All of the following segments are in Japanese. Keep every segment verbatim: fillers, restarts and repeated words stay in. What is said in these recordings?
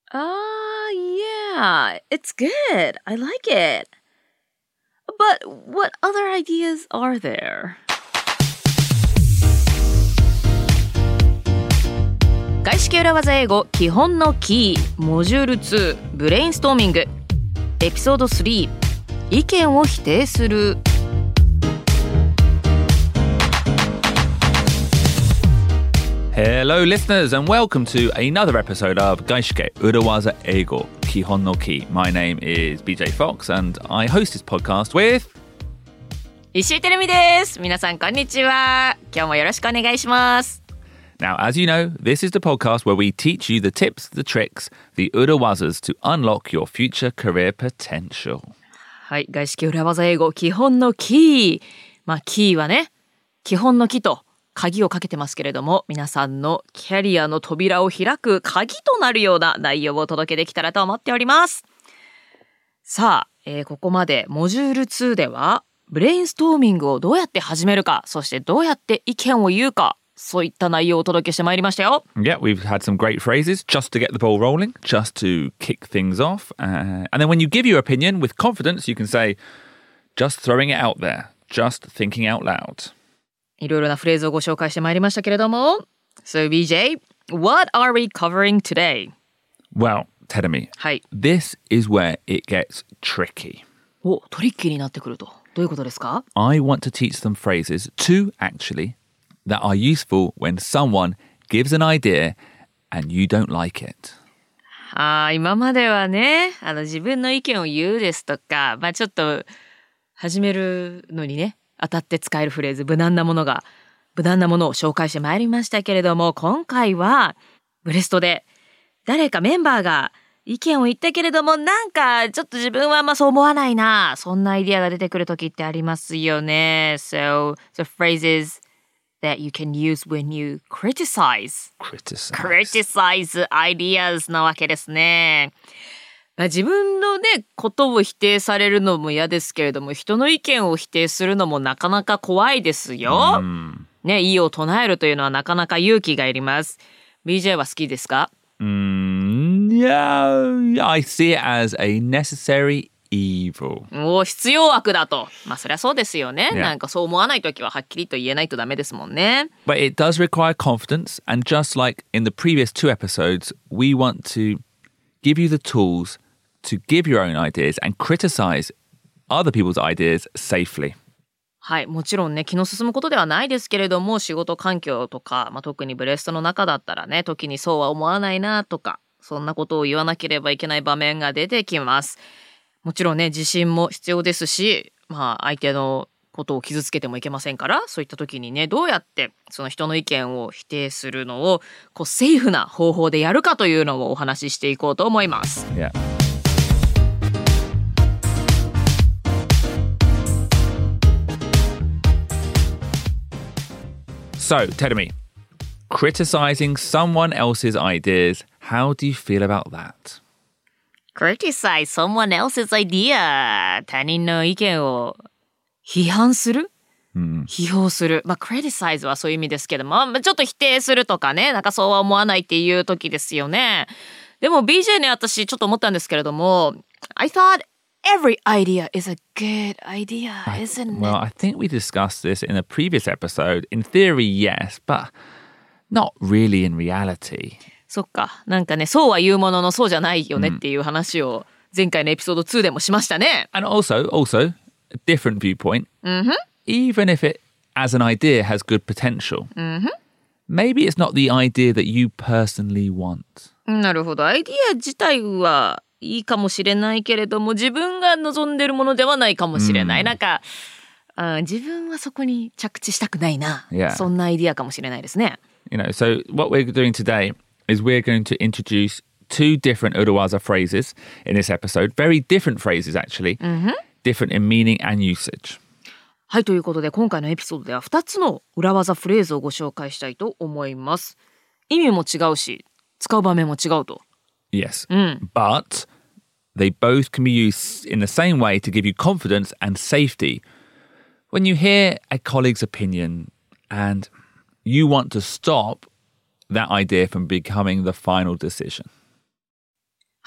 Ah, yeah, it's good. I like it. But what other ideas are there? 外資系裏技英語基本のキーモジュールツーブレインストーミングエピソードスリー意見を否定する。 Hello listeners and welcome to another episode of 外資系裏技英語基本のキー。 My name is B J Fox and I host this podcast with 石井てるみです。皆さんこんにちは。今日もよろしくお願いします。 Now, as you know, this is the podcast where we teach you the tips, the tricks, the urawazas to unlock your future career potential. はい、外資系裏技英語基本のキー。まあキーはね、基本のキと鍵をかけてますけれども、皆さんのキャリアの扉を開く鍵となるような内容をお届けできたらと思っております。さあ、えー、ここまでモジュールツーではブレインストーミングをどうやって始めるか、そしてどうやって意見を言うか、そういった内容をお届けしてまいりましたよ。 Yeah, we've had some great phrases just to get the ball rolling, just to kick things off. Uh, and then when you give your opinion with confidence, you can say, just throwing it out there, just thinking out loud. いろいろなフレーズをご紹介してまいりましたけれども。So B J, what are we covering today? Well, Terumi, はい。 this is where it gets tricky. お、トリッキーになってくると。どういうことですか？ I want to teach them phrases, two actually, that are useful when someone gives an idea and you don't like it. ああ、今まではね、あの自分の意見を言うですとか、まあちょっと始めるのにね、当たって使えるフレーズ、無難なものが、無難なものを紹介してまいりましたけれども、今回はブレストで誰かメンバーが意見を言ったけれども、なんかちょっと自分はあんまそう思わないな、そんなアイディアが出てくる時ってありますよね。So, the phrases that you can use when you criticize. Criticize. Criticize ideas なわけですね。まあ、自分のね、ことを否定されるのも嫌ですけれども、人の意見を否定するのもなかなか怖いですよ。ね、異を唱えるというのはなかなか勇気がいります。ビージェー は好きですか？ Mm, yeah, I see it as a necessary evil. お、必要悪だと。まあそりゃそうですよね。 Yeah. なんかそう思わないときははっきりと言えないとダメですもんね。 But it does require confidence, and just like in the previous two episodes, we want to give you the tools to give your own ideas and criticize other people's ideas safely. はい、もちろんね、気の進むことではないですけれども、仕事環境とか、まあ、特にブレストの中だったらね、時にそうは思わないなとか、そんなことを言わなければいけない場面が出てきます。もちろんね、自信も必要ですし、まあ相手のことを傷つけてもいけませんから、そういった時にね、どうやってその人の意見を否定するのをこうセーフな方法でやるかというのをお話ししていこうと思います。 Yeah. So, Terumi, criticizing someone else's ideas, how do you feel about that? Criticize someone else's idea. 他人の意見を批判する、うん、批評する。まあ、criticize はそういう意味ですけども、まあ、ちょっと否定するとかね、なんかそうは思わないっていう時ですよね。でも ビージェー ね、私ちょっと思ったんですけれども、I thought every idea is a good idea, isn't it? Well, I think we discussed this in a previous episode. In theory, yes, but not really in reality. そっか。なんかね、そうは言うもののそうじゃないよねっていう話を前回のエピソードツーでもしましたね。 And also, also, a different viewpoint. Mm-hmm. Even if it, as an idea, has good potential, mm-hmm. maybe it's not the idea that you personally want. なるほど。アイディア自体はいいかもしれないけれども、自分が望んでるものではないかもしれない。Mm. なんか、あ、自分はそこに着地したくないな。 Yeah. そんなアイディアかもしれないですね。 You know, so what we're doing today is we're going to introduce two different Urawaza phrases in this episode. Very different phrases, actually. Mm-hmm. Different in meaning and usage. はい、ということで今回のエピソードではふたつの裏技フレーズをご紹介したいと思います。意味も違うし、使う場面も違うと。 Yes, うん、 but they both can be used in the same way to give you confidence and safety. When you hear a colleague's opinion and you want to stop that idea from becoming the final decision.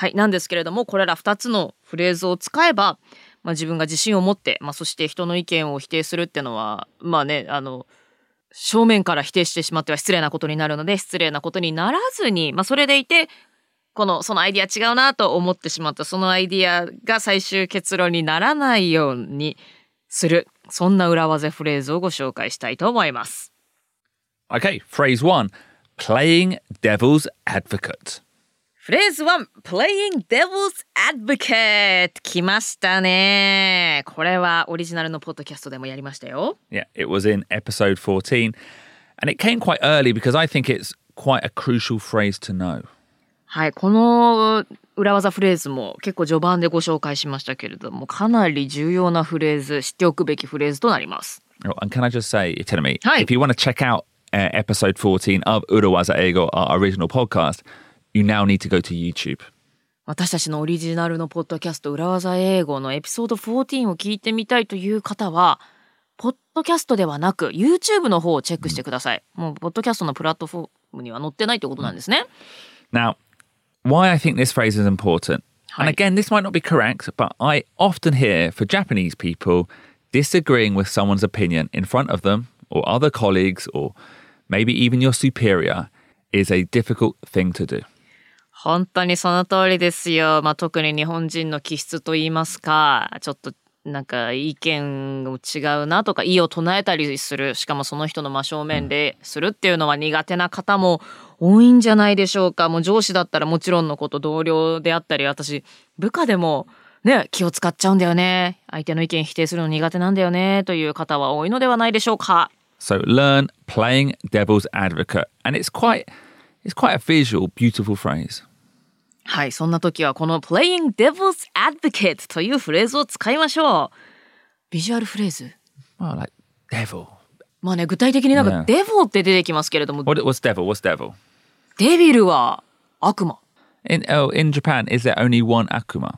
はい、なんですけれども、これらふたつのフレーズを使えば、まあ、自分が自信を持って、まあ、そして人の意見を否定するっていうのは、まあね、あの、正面から否定してしまっては失礼なことになるので、失礼なことにならずに、まあ、それでいて、この、そのアイディア違うなと思ってしまった、そのアイディアが最終結論にならないようにする、そんな裏技フレーズをご紹介したいと思います。 Okay, phrase one, playing devil's advocate. フレーズワン、Playing Devil's Advocate 来ましたね。これはオリジナルのポッドキャストでもやりましたよ。 Yeah, it was in episode fourteen. And it came quite early because I think it's quite a crucial phrase to know. はい、この裏技フレーズも結構序盤でご紹介しましたけれども、かなり重要なフレーズ、知っておくべきフレーズとなります。 Oh, and can I just say, Itenami, Hi. if you want to check out uh, episode fourteen of Urawaza Eigo, our original podcast, you now need to go to YouTube. 私たちのオリジナルのポッドキャスト裏技英語のエピソードじゅうよんを聞いてみたいという方は、ポッドキャストではなく YouTube の方をチェックしてください。もうポッドキャストのプラットフォームには載ってないってことなんですね。 Now, why I think this phrase is important, and again, this might not be correct, but I often hear for Japanese people disagreeing with someone's opinion in front of them or other colleagues or maybe even your superior is a difficult thing to do. 本当にその通りですよ。まあ、特に日本人の気質といいますか、ちょっとなんか意見も違うなとか異を唱えたりする、しかもその人の真正面でするっていうのは苦手な方も多いんじゃないでしょうか。もう上司だったらもちろんのこと、同僚であったり、私部下でもね、気を使っちゃうんだよね、相手の意見否定するの苦手なんだよねという方は多いのではないでしょうか。 So learn playing devil's advocate, and it's quite it's quite a visual, beautiful phrase. はい、そんな時はこの Playing Devil's Advocate というフレーズを使いましょう。ビジュアルフレーズ。 Oh, like devil. まあね、具体的になんか Devil って出てきますけれども、 What, what's devil? What's devil? デビルは悪魔。 In oh, in Japan, is there only one akuma,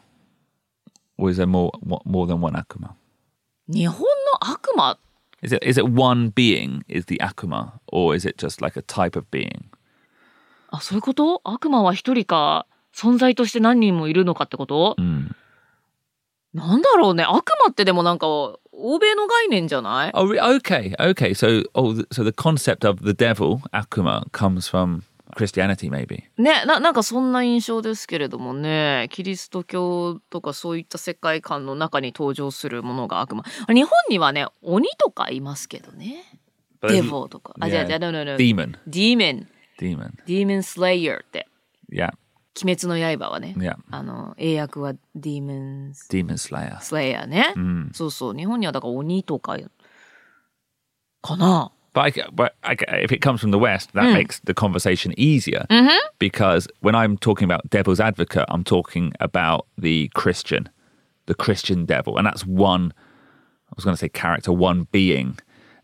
or is there more more than one akuma? 日本の悪魔。 Is it is it one being is the akuma, or is it just like a type of being? あ、そういうこと？悪魔は一人か存在として何人もいるのかってこと？うん。なんだろうね。悪魔ってでもなんか欧米の概念じゃない？ Oh, okay, okay. So, oh, so the concept of the devil, akuma, comes from Christianity, maybe. ね、な、なんかそんな印象ですけれどもね。キリスト教とかそういった世界観の中に登場するものが悪魔。日本にはね、鬼とかいますけどね。デボとか。あ、じゃあ、じゃあ、no, no, no. Demon. Demon. Demon. Demon Slayer って。 Yeah. 鬼滅の刃はね、 yeah. あの英訳は Demon Demon Slayer Slayer ね、うん、そうそう、日本にはだから鬼とかかな。 But, I, but I, if it comes from the West, that mm. makes the conversation easier mm-hmm. because when I'm talking about devil's advocate, I'm talking about the Christian, the Christian devil, and that's one. I was going to say character, one being,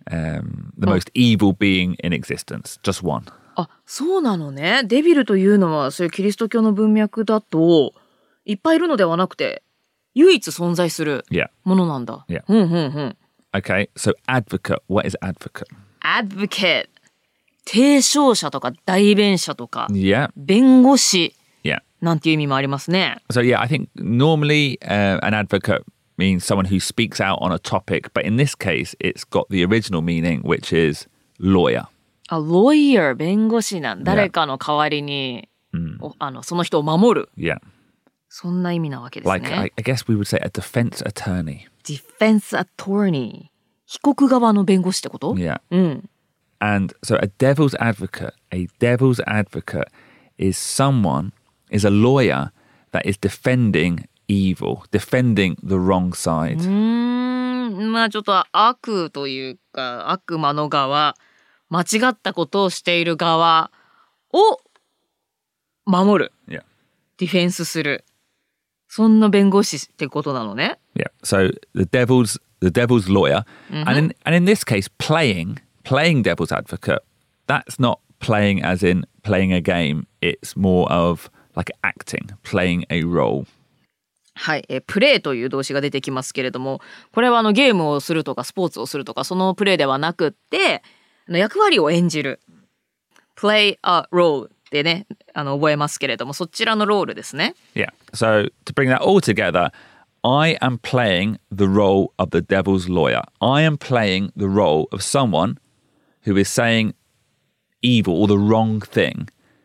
um, the oh. most evil being in existence, just one. あ、そうなのね。デビルというのはそういうキリスト教の文脈だといっぱいいるのではなくて唯一存在するものなんだ。 Yeah. うんうんうん。 Okay, so advocate. What is advocate? Advocate. 提唱者とか代弁者とか、 yeah. 弁護士 yeah. なんていう意味もありますね。 So yeah, I think normally、uh, an advocate means someone who speaks out on a topic, but in this case, it's got the original meaning, which is lawyer. あ、lawyer 弁護士なん。誰かの代わりに、yeah. あのその人を守る。 Yeah. そんな意味なわけですね。 Like, I, I guess we would say a defense attorney. Defense attorney. 被告側の弁護士ってこと？ Yeah. うん。 And so a devil's advocate, a devil's advocate is someone, is a lawyer that is defending evil, defending the wrong side. うーん、まあちょっと悪というか悪魔の側、間違ったことをしている側を守る。 Yeah. ディフェンスする。そんな弁護士ってことなのね。 Yeah. So the devil's the devil's lawyer, mm-hmm. and in and in this case, playing playing devil's advocate. That's not playing as in playing a game. It's more of like acting, playing a role. はい、えプレイという動詞が出てきますけれども、これはあのゲームをするとかスポーツをするとかそのプレイではなくって、あの役割を演じる。Play a role でね、あの覚えますけれども、そちらのロールですね。 Yeah. So to bring that all together, I am playing the role of the devil's lawyer. I am playing the role of someone who is saying evil or the wrong thing.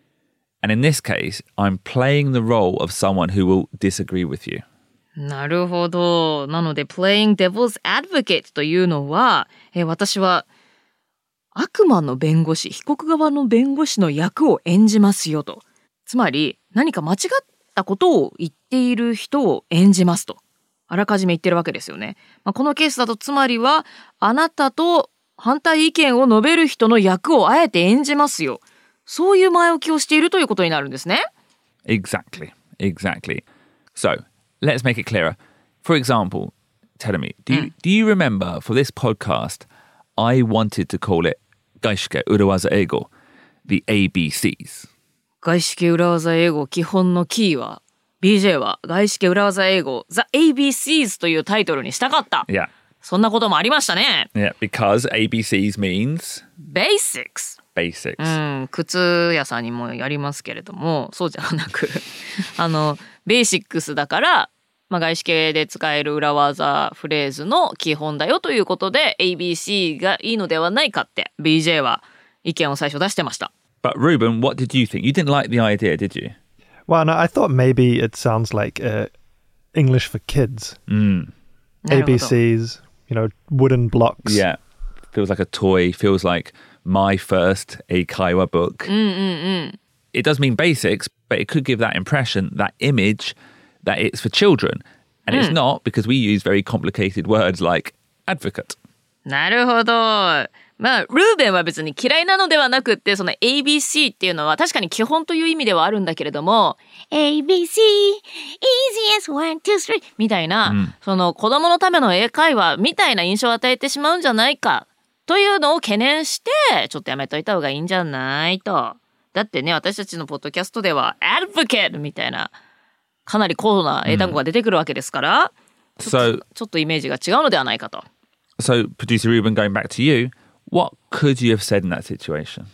And in this case, I'm playing the role of someone who will disagree with you. なるほど。なので playing devil's advocate というのは、えー私は悪魔の弁護士、被告側の弁護士の役を演じますよと。つまり何か間違ったことを言っている人を演じますと。あらかじめ言ってるわけですよね。まあ、このケースだとつまりはあなたと反対意見を述べる人の役をあえて演じますよ。そういう前置きをしているということになるんですね。 Exactly. Exactly. So let's make it clearer. For example, Terumi, do you, do you remember for this podcast, I wanted to call it Gaishike Urawaza Eigo, the A B Cs. 外資系裏技英語基本のキーは ビージェー は外資系裏技英語 The エービーシーズ というタイトルにしたかった。 Yeah. そんなこともありましたね。 Yeah, because A B Cs means Basics。 basics. うん、靴屋さんにもやりますけれども、そうじゃなくあのベーシックスだから、まあ、外資系で使える裏技フレーズの基本だよということで エービーシー がいいのではないかって ビージェー は意見を最初出してました。 But Ruben, what did you think? You didn't like the idea, did you? Well, no, I thought maybe it sounds like uh, English for kids. Mm. A B Cs, you know, wooden blocks. Yeah. Feels like a toy. Feels like my first Eikaiwa book. うんうんうん。 It does mean basics, but it could give that impression, that image, that it's for children. And it's not because we use very complicated words like advocate. なるほど。まあ、ルーベンは別に嫌いなのではなくって、その エービーシー っていうのは確かに基本という意味ではあるんだけれども、エービーシー、easiest one, two, three みたいな、うん、その子供のための英会話みたいな印象を与えてしまうんじゃないかというのを懸念して、ちょっとやめといた方がいいんじゃないと。だってね、私たちのポッドキャストでは advocate みたいな、かなり高度な英単語が出てくるわけですから、うん、ちょっと、ちょっとイメージが違うのではないかと。 So, producer Ruben, going back to you, what could you have said in that situation?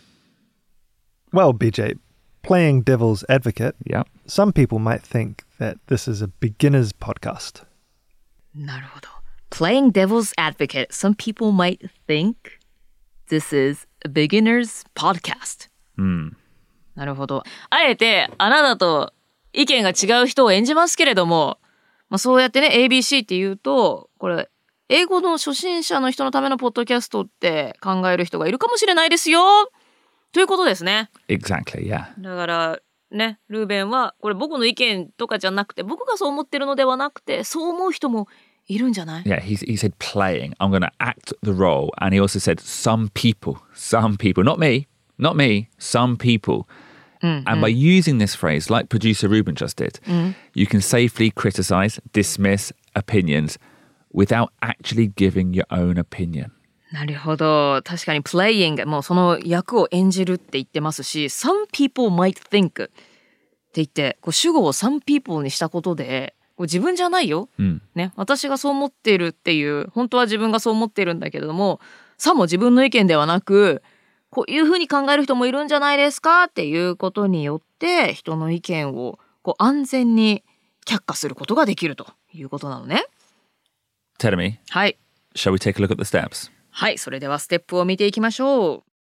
Well, B J, playing devil's advocate, yeah. some people might think that this is a beginner's podcast. なるほど。Playing devil's advocate, some people might think this is a beginner's podcast. うん。 なるほど。あえてあなたと意見が違う人を演じますけれども、まあ、そうやってね エービーシー って言うと、これ英語の初心者の人のためのポッドキャストって考える人がいるかもしれないですよということですね。 Exactly, yeah. だからね、ルーベンはこれ僕の意見とかじゃなくて、僕がそう思ってるのではなくて、そう思う人もいるんじゃない？ Yeah, he, he said playing. I'm going to act the role. And he also said some people, some people, not me, not me, some people. Mm, and mm. by using this phrase, like producer Ruben just did, mm. you can safely criticize, dismiss opinions without actually giving your own opinion. なるほど。確かに playing もうその役を演じるって言ってますし、some people might think って言ってこう主語を some people にしたことで、こう自分じゃないよ、うん、ね、私がそう思っているっていう、本当は自分がそう思っているんだけれども、さも自分の意見ではなく、こういうふうに考える人もいるんじゃないですかっていうことによって人の意見をこう安全に却下することができるということなのね。 Terumi, はい。 Shall we take a look at the steps? はい、それではステップを見ていきましょう。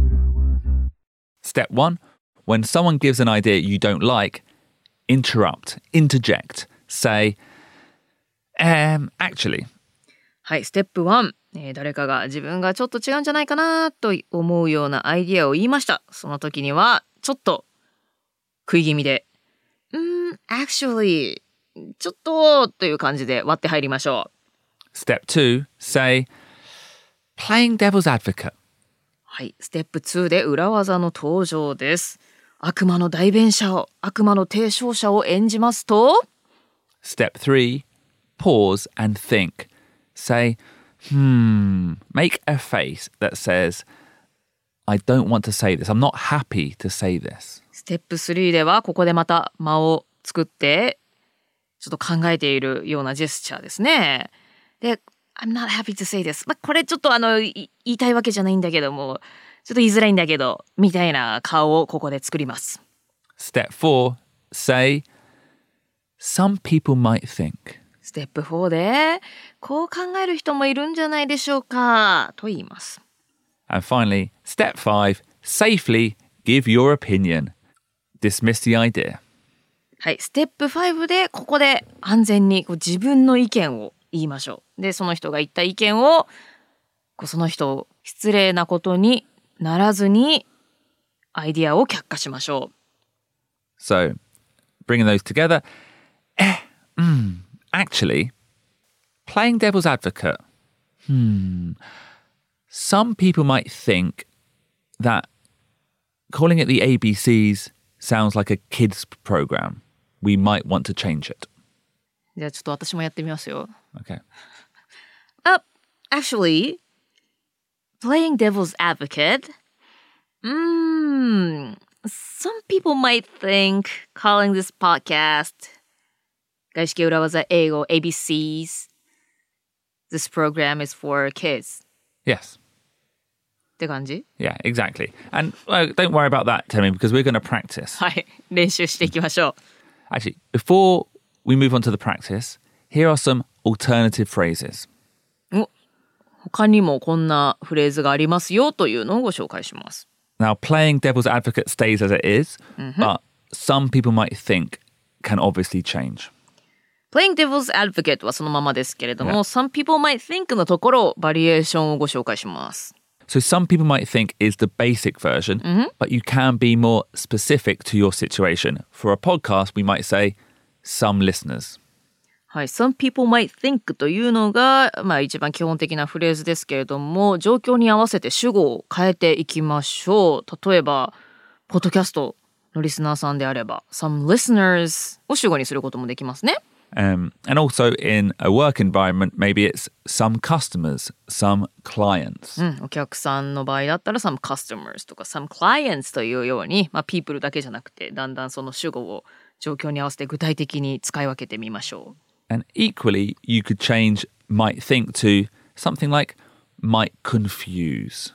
Step one, when someone gives an idea you don't like, interrupt, interject, say, um, actually. はい、ステップワン、えー、誰かが自分がちょっと違うんじゃないかなと思うようなアイディアを言いました。その時にはちょっと食い気味で、うーん、actually、ちょっとという感じで割って入りましょう。Step two, say, playing devil's advocate. はい、ステップツーで裏技の登場です。悪魔の代弁者を、悪魔の提唱者を演じますと Step three, pause and think. Say, hmm, make a face that says, I don't want to say this. I'm not happy to say this. ステップスリーではここでまた間を作ってちょっと考えているようなジェスチャーですね。で、I'm not happy to say this、まあ、これちょっとあの言いたいわけじゃないんだけども、 ちょっと言いづらいんだけど、みたいな顔をここで作ります。 Step four, say, some people might think. ステップフォーで、こう考える人もいるんじゃないでしょうか、と言います。 And finally, step five, safely give your opinion. Dismiss the idea. はい、ステップファイブでここで安全にこう自分の意見を言いましょう。で、その人が言った意見をこうその人を失礼なことにならずにアイディアを却下しましょう。 So, bringing those together, eh, mm, actually, playing devil's advocate. Hmm. Some people might think that calling it the A B Cs sounds like a kids program. We might want to change it. じゃあちょっと私もやってみますよ。 Okay. Uh, actually, playing devil's advocate. Mm, some people might think calling this podcast 外資系裏技英語 A B Cs. This program is for kids. Yes. って感じ? Yeah, exactly. And uh, don't worry about that, Temi, because we're going to practice. はい、練習していきましょう。 Actually, before we move on to the practice, here are some alternative phrases. お、他にもこんなフレーズがありますよというのをご紹介します。 Now, playing devil's advocate stays as it is, mm-hmm. but some people might think can obviously change. Playing devil's advocate はそのままですけれども、 Yeah. some people might think のところ、バリエーションをご紹介します。 So some people might think is the basic version, mm-hmm. but you can be more specific to your situation. For a podcast, we might say some listeners. はい、some people might think というのが、まあ一番基本的なフレーズですけれども、状況に合わせて主語を変えていきましょう。例えば、ポッドキャストのリスナーさんであれば、some listeners を主語にすることもできますね。 Um, and also in a work environment, maybe it's some customers, some clients. うん、お客さんの場合だったら some customers とか some clients というように、まあ、people だけじゃなくてだんだんその主語を状況に合わせて具体的に使い分けてみましょう。 And equally, you could change might think to something like might confuse.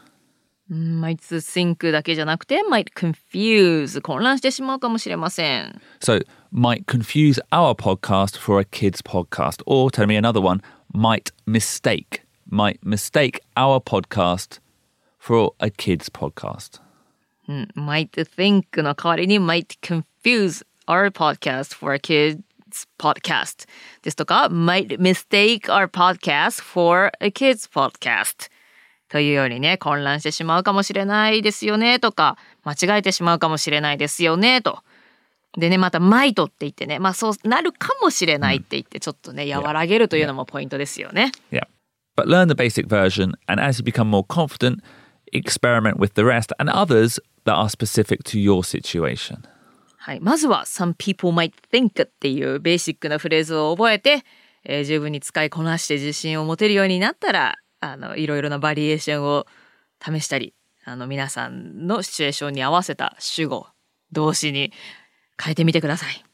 might think だけじゃなくて might confuse 混乱してしまうかもしれません。 So might confuse our podcast for a kid's podcast. Or tell me another one, might mistake. Might mistake our podcast for a kid's podcast. うん、might think の代わりに might confuse our podcast for a kid's podcast ですとか might mistake our podcast for a kid's podcastというようにね、混乱してしまうかもしれないですよねとか、間違えてしまうかもしれないですよねと。でね、また might って言ってね、まあそうなるかもしれないって言ってちょっとね、和らげるというのもポイントですよね。 Yeah. But learn the basic version, and as you become more confident, experiment with the rest and others that are specific to your situation. はい、まずは some people might think っていうベーシックなフレーズを覚えて、えー、十分に使いこなして自信を持てるようになったら、あのいろいろなバリエーションを試したり、あの皆さんのシチュエーションに合わせた主語、動詞に変えてみてください。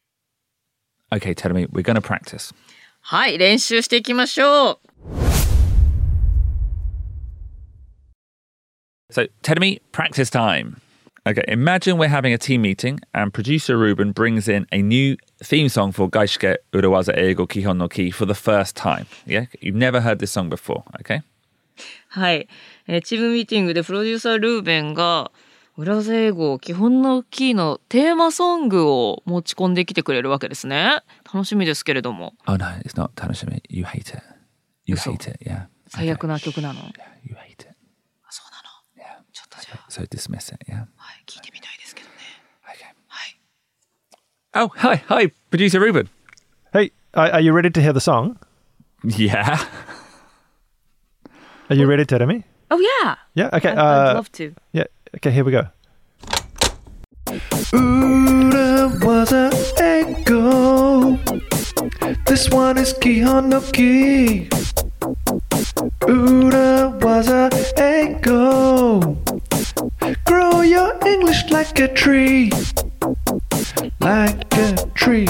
Okay, tell me, we're going to practice. はい、練習していきましょう。 So, tell me, practice time. Okay, imagine we're having a team meeting and producer Ruben brings in a new theme song for Gaishike Urawaza Eigo Kihon no Ki for the first time. Yeah, you've never heard this song before, okay? はい、えー、チームミーティングでプロデューサールーベンが裏技英語基本のキーのテーマソングを持ち込んできてくれるわけですね。楽しみですけれども。 Oh no, it's not Tanoshimi. You hate it. You hate it, yeah. 最悪な曲なの。 Yeah, you hate it. あ、そうなの。 Yeah. ちょっとじゃあ。 So dismiss it, yeah. はい、聞いてみたいですけどね。 Okay. はい。 Oh, hi, hi, producer Ruben. Hey, are, are you ready to hear the song? Yeah. Are you ready, Teremi? Oh yeah. Yeah. Okay. I'd, uh, I'd love to. Yeah. Okay. Here we go. Ura waza echo. This one is Kihon no Ki. Ura waza echo. Grow your English like a tree. Like a tree.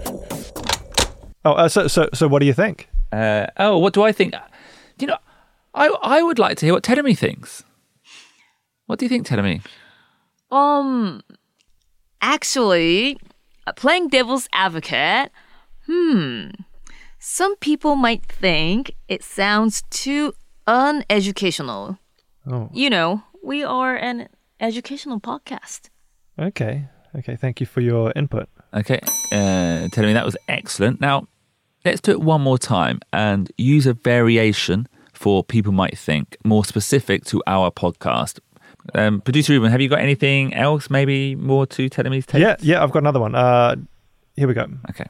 Oh, uh, so so so what do you think? Uh, oh, what do I think? You know, I I would like to hear what Tedemi thinks. What do you think, Tedemi? Um, actually, playing devil's advocate, hmm, some people might think it sounds too uneducational. Oh, You know, we are an educational podcast. okay. Okay, thank you for your input. Okay, uh, Tedemi, that was excellent. Now, let's do it one more time and use a variation for people might think, more specific to our podcast. Um, Producer Ruben, have you got anything else, maybe more to Tedemi's take? Yeah, yeah, I've got another one. Uh, here we go. Okay.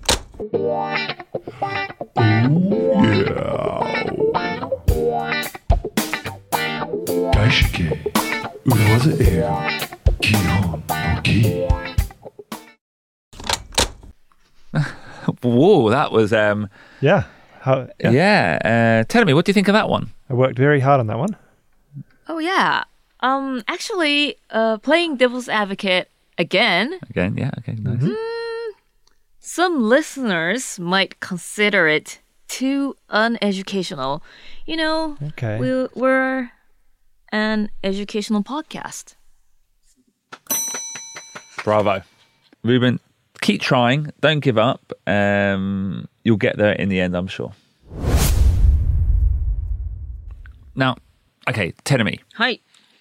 Whoa, that was, um, Yeah. How, yeah. yeah. Uh, Tedemi, what do you think of that one? I worked very hard on that one. Oh, yeah. Um, actually, uh, playing devil's advocate again, Again, yeah, okay, nice. some listeners might consider it too uneducational. You know, Okay. we, we're an educational podcast. Bravo. Ruben, keep trying. Don't give up. Um, you'll get there in the end, I'm sure. Now, okay, Tedemi, はい。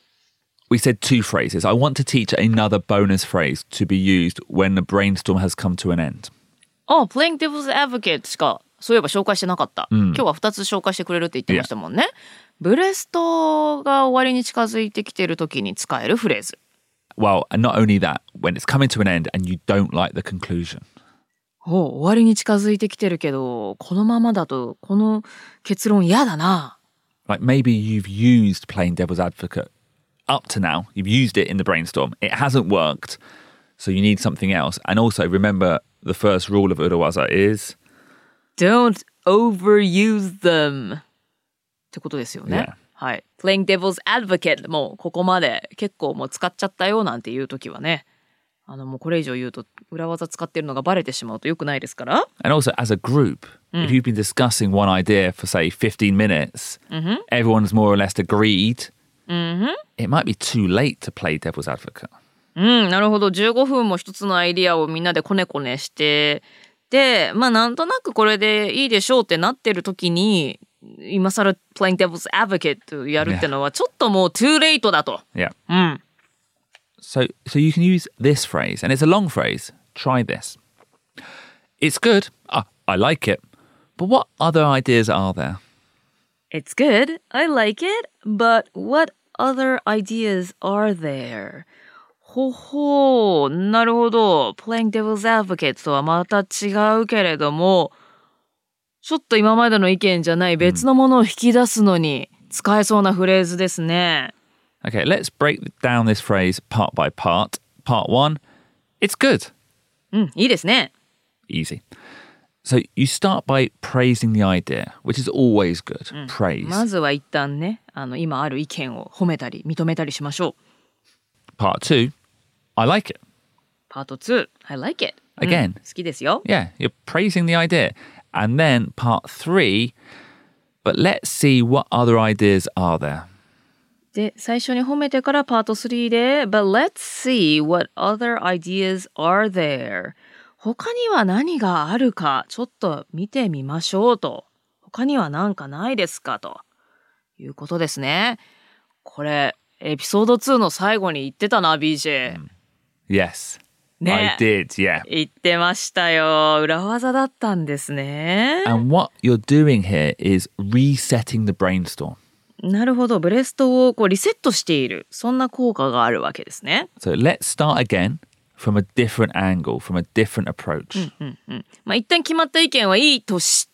we said two phrases. I want to teach another bonus phrase to be used when the brainstorm has come to an end. あ、playing devil's advocate しかそういえば紹介してなかった。今日はふたつ紹介してくれるって言ってましたもんね。ブレストが終わりに近づいてきてる時に使えるフレーズ。 Well, and not only that, when it's coming to an end and you don't like the conclusion. お終わりに近づいてきてるけど、このままだとこの結論嫌だな。 Like maybe you've used playing devil's advocate up to now. You've used it in the brainstorm. It hasn't worked. So you need something else. And also remember the first rule of Urawaza is... Don't overuse them ってことですよね。 Yeah. はい。Playing devil's advocate もうここまで結構もう使っちゃったよなんていう時はね、あのもうこれ以上言うと裏技使ってるのがバレてしまうと良くないですから。 And also as a group, if you've been discussing one idea for say fifteen minutes, everyone's more or less agreed, it might be too late to play devil's advocate. うん、なるほど。じゅうごふんも一つのアイディアをみんなでコネコネして、で、まあなんとなくこれでいいでしょうってなってる時に、今更 playing devil's advocate やるってのはちょっともう too late だと。 Yeah. うん。 So, so you can use this phrase, and it's a long phrase. Try this. It's good. Ah, I like it. But what other ideas are there? It's good. I like it. But what other ideas are there? ほほう、なるほど。Playing devil's advocate とはまた違うけれども、ちょっと今までの意見じゃない別のものを引き出すのに使えそうなフレーズですね。 Okay, let's break down this phrase part by part. Part one, it's good. うん、いいですね。 Easy. So you start by praising the idea, which is always good. Praise. まずは一旦ね、あの今ある意見を褒めたり認めたりしましょう。 Part two, I like it. パートツー、I like it. Again. うん、好きですよ。 Yeah, you're praising the idea. And then part three, but let's see what other ideas are there. で、最初に褒めてからパートスリーで But let's see what other ideas are there. 他には何があるかちょっと見てみましょうと。他には何かないですかということですね。これエピソードツーの最後に言ってたな ビージェー、 Yes, ね I did, yeah. 言ってましたよ。裏技だったんですね。 And what you're doing here is resetting the brainstorm. なるほど。ブレストをこうリセットしている。そんな効果があるわけですね。 So let's start again from a different angle, from a different approach. まあ一旦決まった意見はいいとして、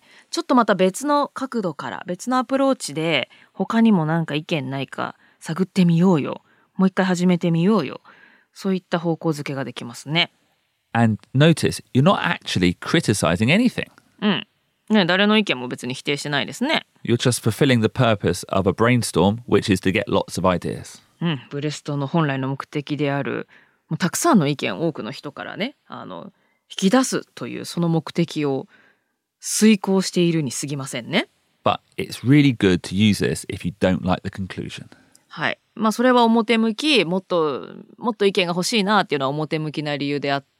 ちょっとまた別の角度から別のアプローチで他にもなんか意見ないか探ってみようよ。もう一回始めてみようよ。そういった方向づけができますね。 And notice, you're not actually criticizing anything. うん。ね、誰の意見も別に否定してないですね。 You're just fulfilling the purpose of a brainstorm, which is to get lots of ideas. うん。ブレストの本来の目的である、もうたくさんの意見を多くの人からね、あの、引き出すというその目的を遂行しているに過ぎませんね。 But it's really good to use this if you don't like the conclusion. はい。まあそれは表向き、もっと、もっと意見が欲しいなっていうのは表向きな理由であって、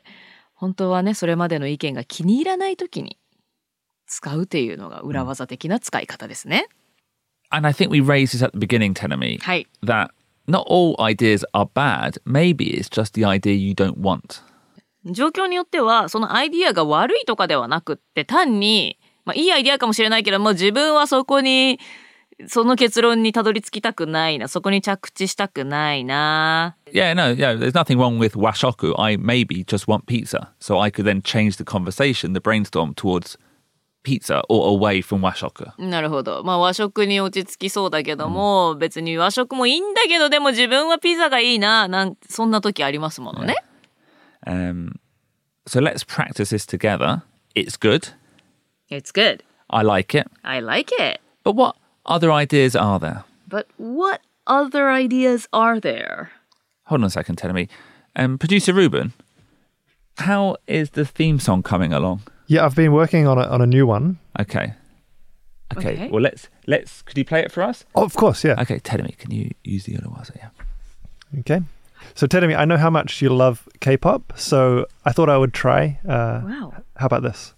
本当はね、それまでの意見が気に入らないときに使うっていうのが裏技的な使い方ですね。 And I think we raised this at the beginning, Tenami, はい。 that not all ideas are bad. Maybe it's just the idea you don't want. 状況によっては、そのアイディアが悪いとかではなくって、単に、まあいいアイディアかもしれないけども、自分はそこに、その結論にたどり着きたくないな、そこに着地したくないな。 Yeah, no, yeah, there's nothing wrong with washoku. I maybe just want pizza. So I could then change the conversation, the brainstorm towards pizza or away from washoku. なるほど。まあ和食に落ち着きそうだけども、うん、別に和食もいいんだけど、でも自分はピザがいいな、なんそんな時ありますものね。 Yeah. Um, so let's practice this together. It's good. It's good. I like it. I like it. But what other ideas are there? But what other ideas are there? Hold on a second, tell me. Um, Producer Ruben, how is the theme song coming along? Yeah, I've been working on a, on a new one. Okay. okay. Okay. Well, let's let's. Could you play it for us? Oh, of course, yeah. Okay, tell me. Can you use the Urawaza? Yeah. Okay. So, Terumi, I know how much you love K-pop, so I thought I would try. Uh, wow. How about this?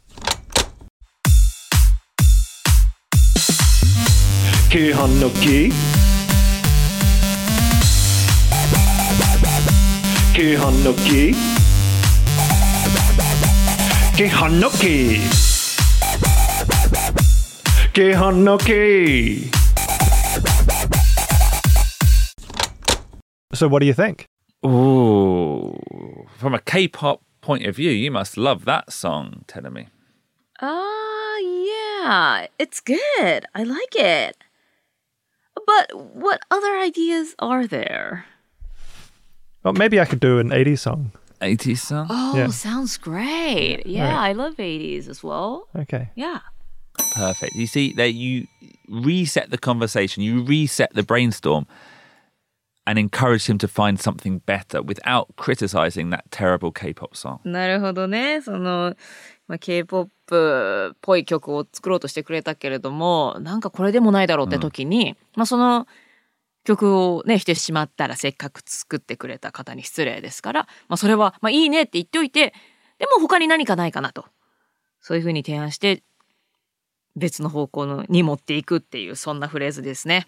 Kihanoki Kihanoki Kihanoki Kihanoki. So what do you think? Ooh, from a K-pop point of view, you must love that song, Tenami. Ah, uh, yeah, it's good. I like it. But what other ideas are there? Well, maybe I could do an eighties song. eighties song? Oh, yeah. Sounds great. Yeah, right. I love eighties as well. Okay. Yeah. Perfect. You see, that you reset the conversation, you reset the brainstorm and encourage him to find something better without criticizing that terrible K-pop song. なるほどね。その、まあ、K-ポップ っぽい曲を作ろうとしてくれたけれども、なんかこれでもないだろうって時に、うん、まあその曲をね、してしまったらせっかく作ってくれた方に失礼ですから、まあそれは、まあいいねって言っておいて、でも他に何かないかなと。そういうふうに提案して、別の方向のに持っていくっていう、そんなフレーズですね。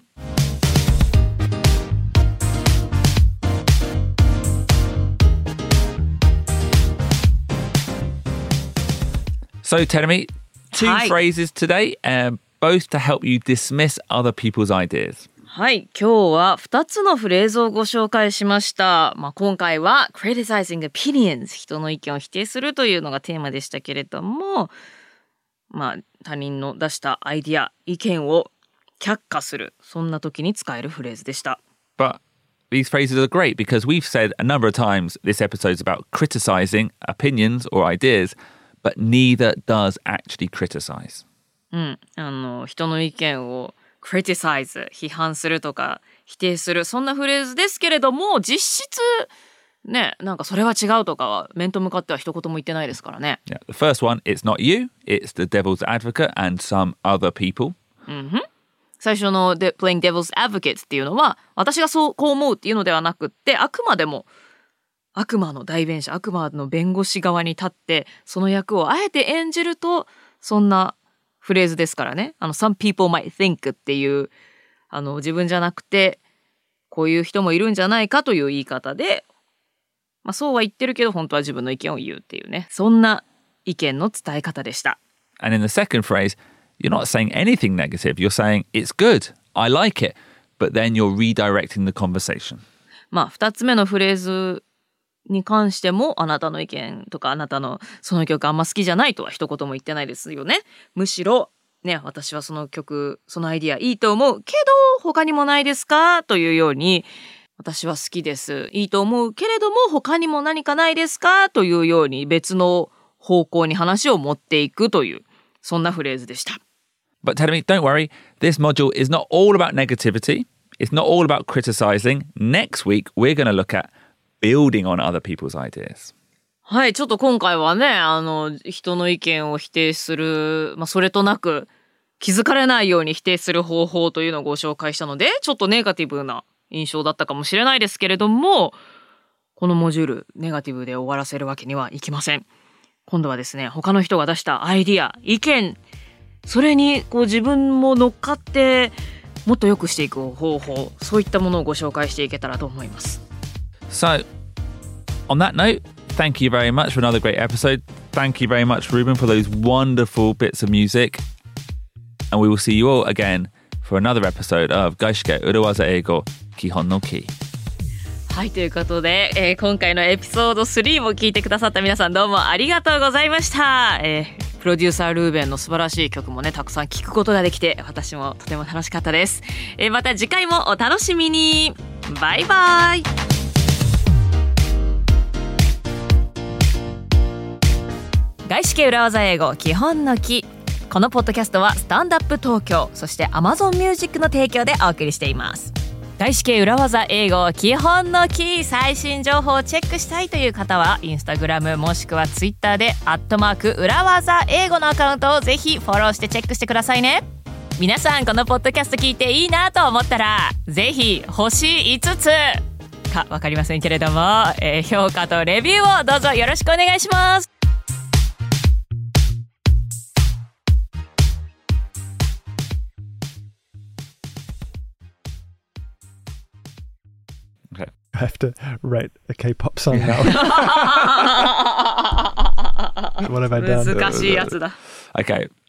So, Terumi, two Hi. phrases today, um, both to help you dismiss other people's ideas. はい、今日はふたつのフレーズをご紹介しました。まあ、今回は criticizing opinions、人の意見を否定するというのがテーマでしたけれども、まあ、他人の出したアイディア、意見を却下する、そんな時に使えるフレーズでした。 But these phrases are great because we've said a number of times this episode is about criticizing opinions or ideas.But neither does actually criticize. うん、あの人の意見を criticize 批判するとか否定するそんなフレーズですけれども実質ねなんかそれは違うとかは面と向かっては一言も言ってないですからね。 Yeah, the first one, it's not you, it's the devil's advocate and some other people. うんふん。最初ので playing devil's advocate っていうのは私がそうこう思うっていうのではなくってあくまでも悪魔の代弁者、悪魔の弁護士側に立って、その役をあえて演じると、そんなフレーズですからね。あの、some people might think っていう、あの、自分じゃなくて、こういう人もいるんじゃないかという言い方で、まあそうは言ってるけど、本当は自分の意見を言うっていうね。そんな意見の伝え方でした。 And in the second phrase, you're not saying anything negative. You're saying, it's good, I like it. But then you're redirecting the conversation. まあ、二つ目のフレーズ、に関してもあなたの意見とかあなたのその曲あんま好きじゃないとは一言も言ってないですよね。むしろね私はその曲そのアイディアいいと思うけど他にもないですかというように私は好きですいいと思うけれども他にも何かないですかというように別の方向に話を持っていくというそんなフレーズでした。 But tell me, don't worry, this module is not all about negativity. It's not all about criticizing. Next week we're going to look at building on other people's ideas. はい、ちょっと今回はね、あの、人の意見を否定する、まあ、それとなく、 気づかれないように否定する方法というのをご紹介したので、ちょっとネガティブな印象だったかもしれないですけれども、このモジュールネガティブで終わらせるわけにはいきません。今度はですね、他の人が出したアイディア、意見、それにこう自分も乗っかってもっと良くしていく方法、そういったものをご紹介していけたらと思います。 So, on that note, thank you very much for another great episode. Thank you very much, Ruben, for those wonderful bits of music. And we will see you all again for another episode of 外資系裏技英語基本のキー。 はい、ということで、えー、今回のエピソードスリーも聞いてくださった皆さんどうもありがとうございました。えー、プロデューサールーベンの素晴らしい曲もねたくさん聴くことができて私もとても楽しかったです。えー、また次回もお楽しみに。バイバイ。外資系裏技英語基本のキ。このポッドキャストはスタンドアップ東京そして Amazon Music の提供でお送りしています。外資系裏技英語基本のキー、最新情報をチェックしたいという方はインスタグラムもしくはツイッターでアットマーク裏技英語のアカウントをぜひフォローしてチェックしてくださいね。皆さんこのポッドキャスト聞いていいなと思ったらぜひ星いつつかわかりませんけれども、えー、評価とレビューをどうぞよろしくお願いします。 I have to write a K-pop song now. What have I done? 難しいやつだ。 Okay.